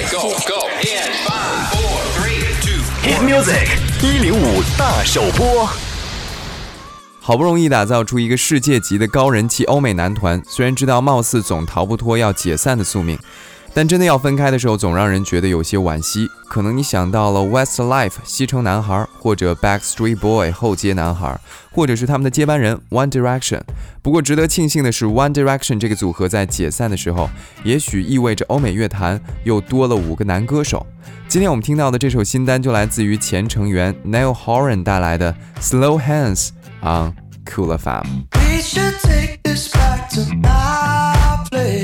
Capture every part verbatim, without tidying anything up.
Go go in five, four, three, two, Hit music 一零五大首播。 好不容易打造出一个世界级的高人气欧美男团，虽然知道貌似总逃不脱要解散的宿命，但真的要分开的时候，总让人觉得有些惋惜。可能你想到了 Westlife 西城男孩，或者 Backstreet Boy 后街男孩，或者是他们的接班人 One Direction。不过值得庆幸的是 One Direction 这个组合在解散的时候，也许意味着欧美乐坛又多了五个男歌手。今天我们听到的这首新单就来自于前成员 Niall Horan 带来的 Slow Hands on Cool F M。We should take this back to my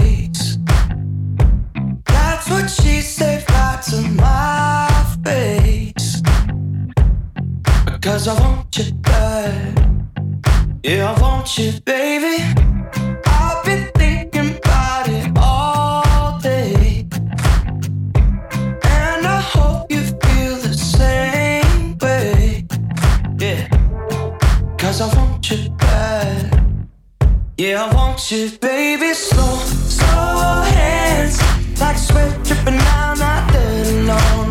place.That's what she said right to my face. Because I want you bad. Yeah, I want you, baby. I've been thinking about it all day. And I hope you feel the same way. Yeah. Because I want you bad. Yeah, I want you, baby. Slow, slow hands.Like sweat dripping down my dirty lawn.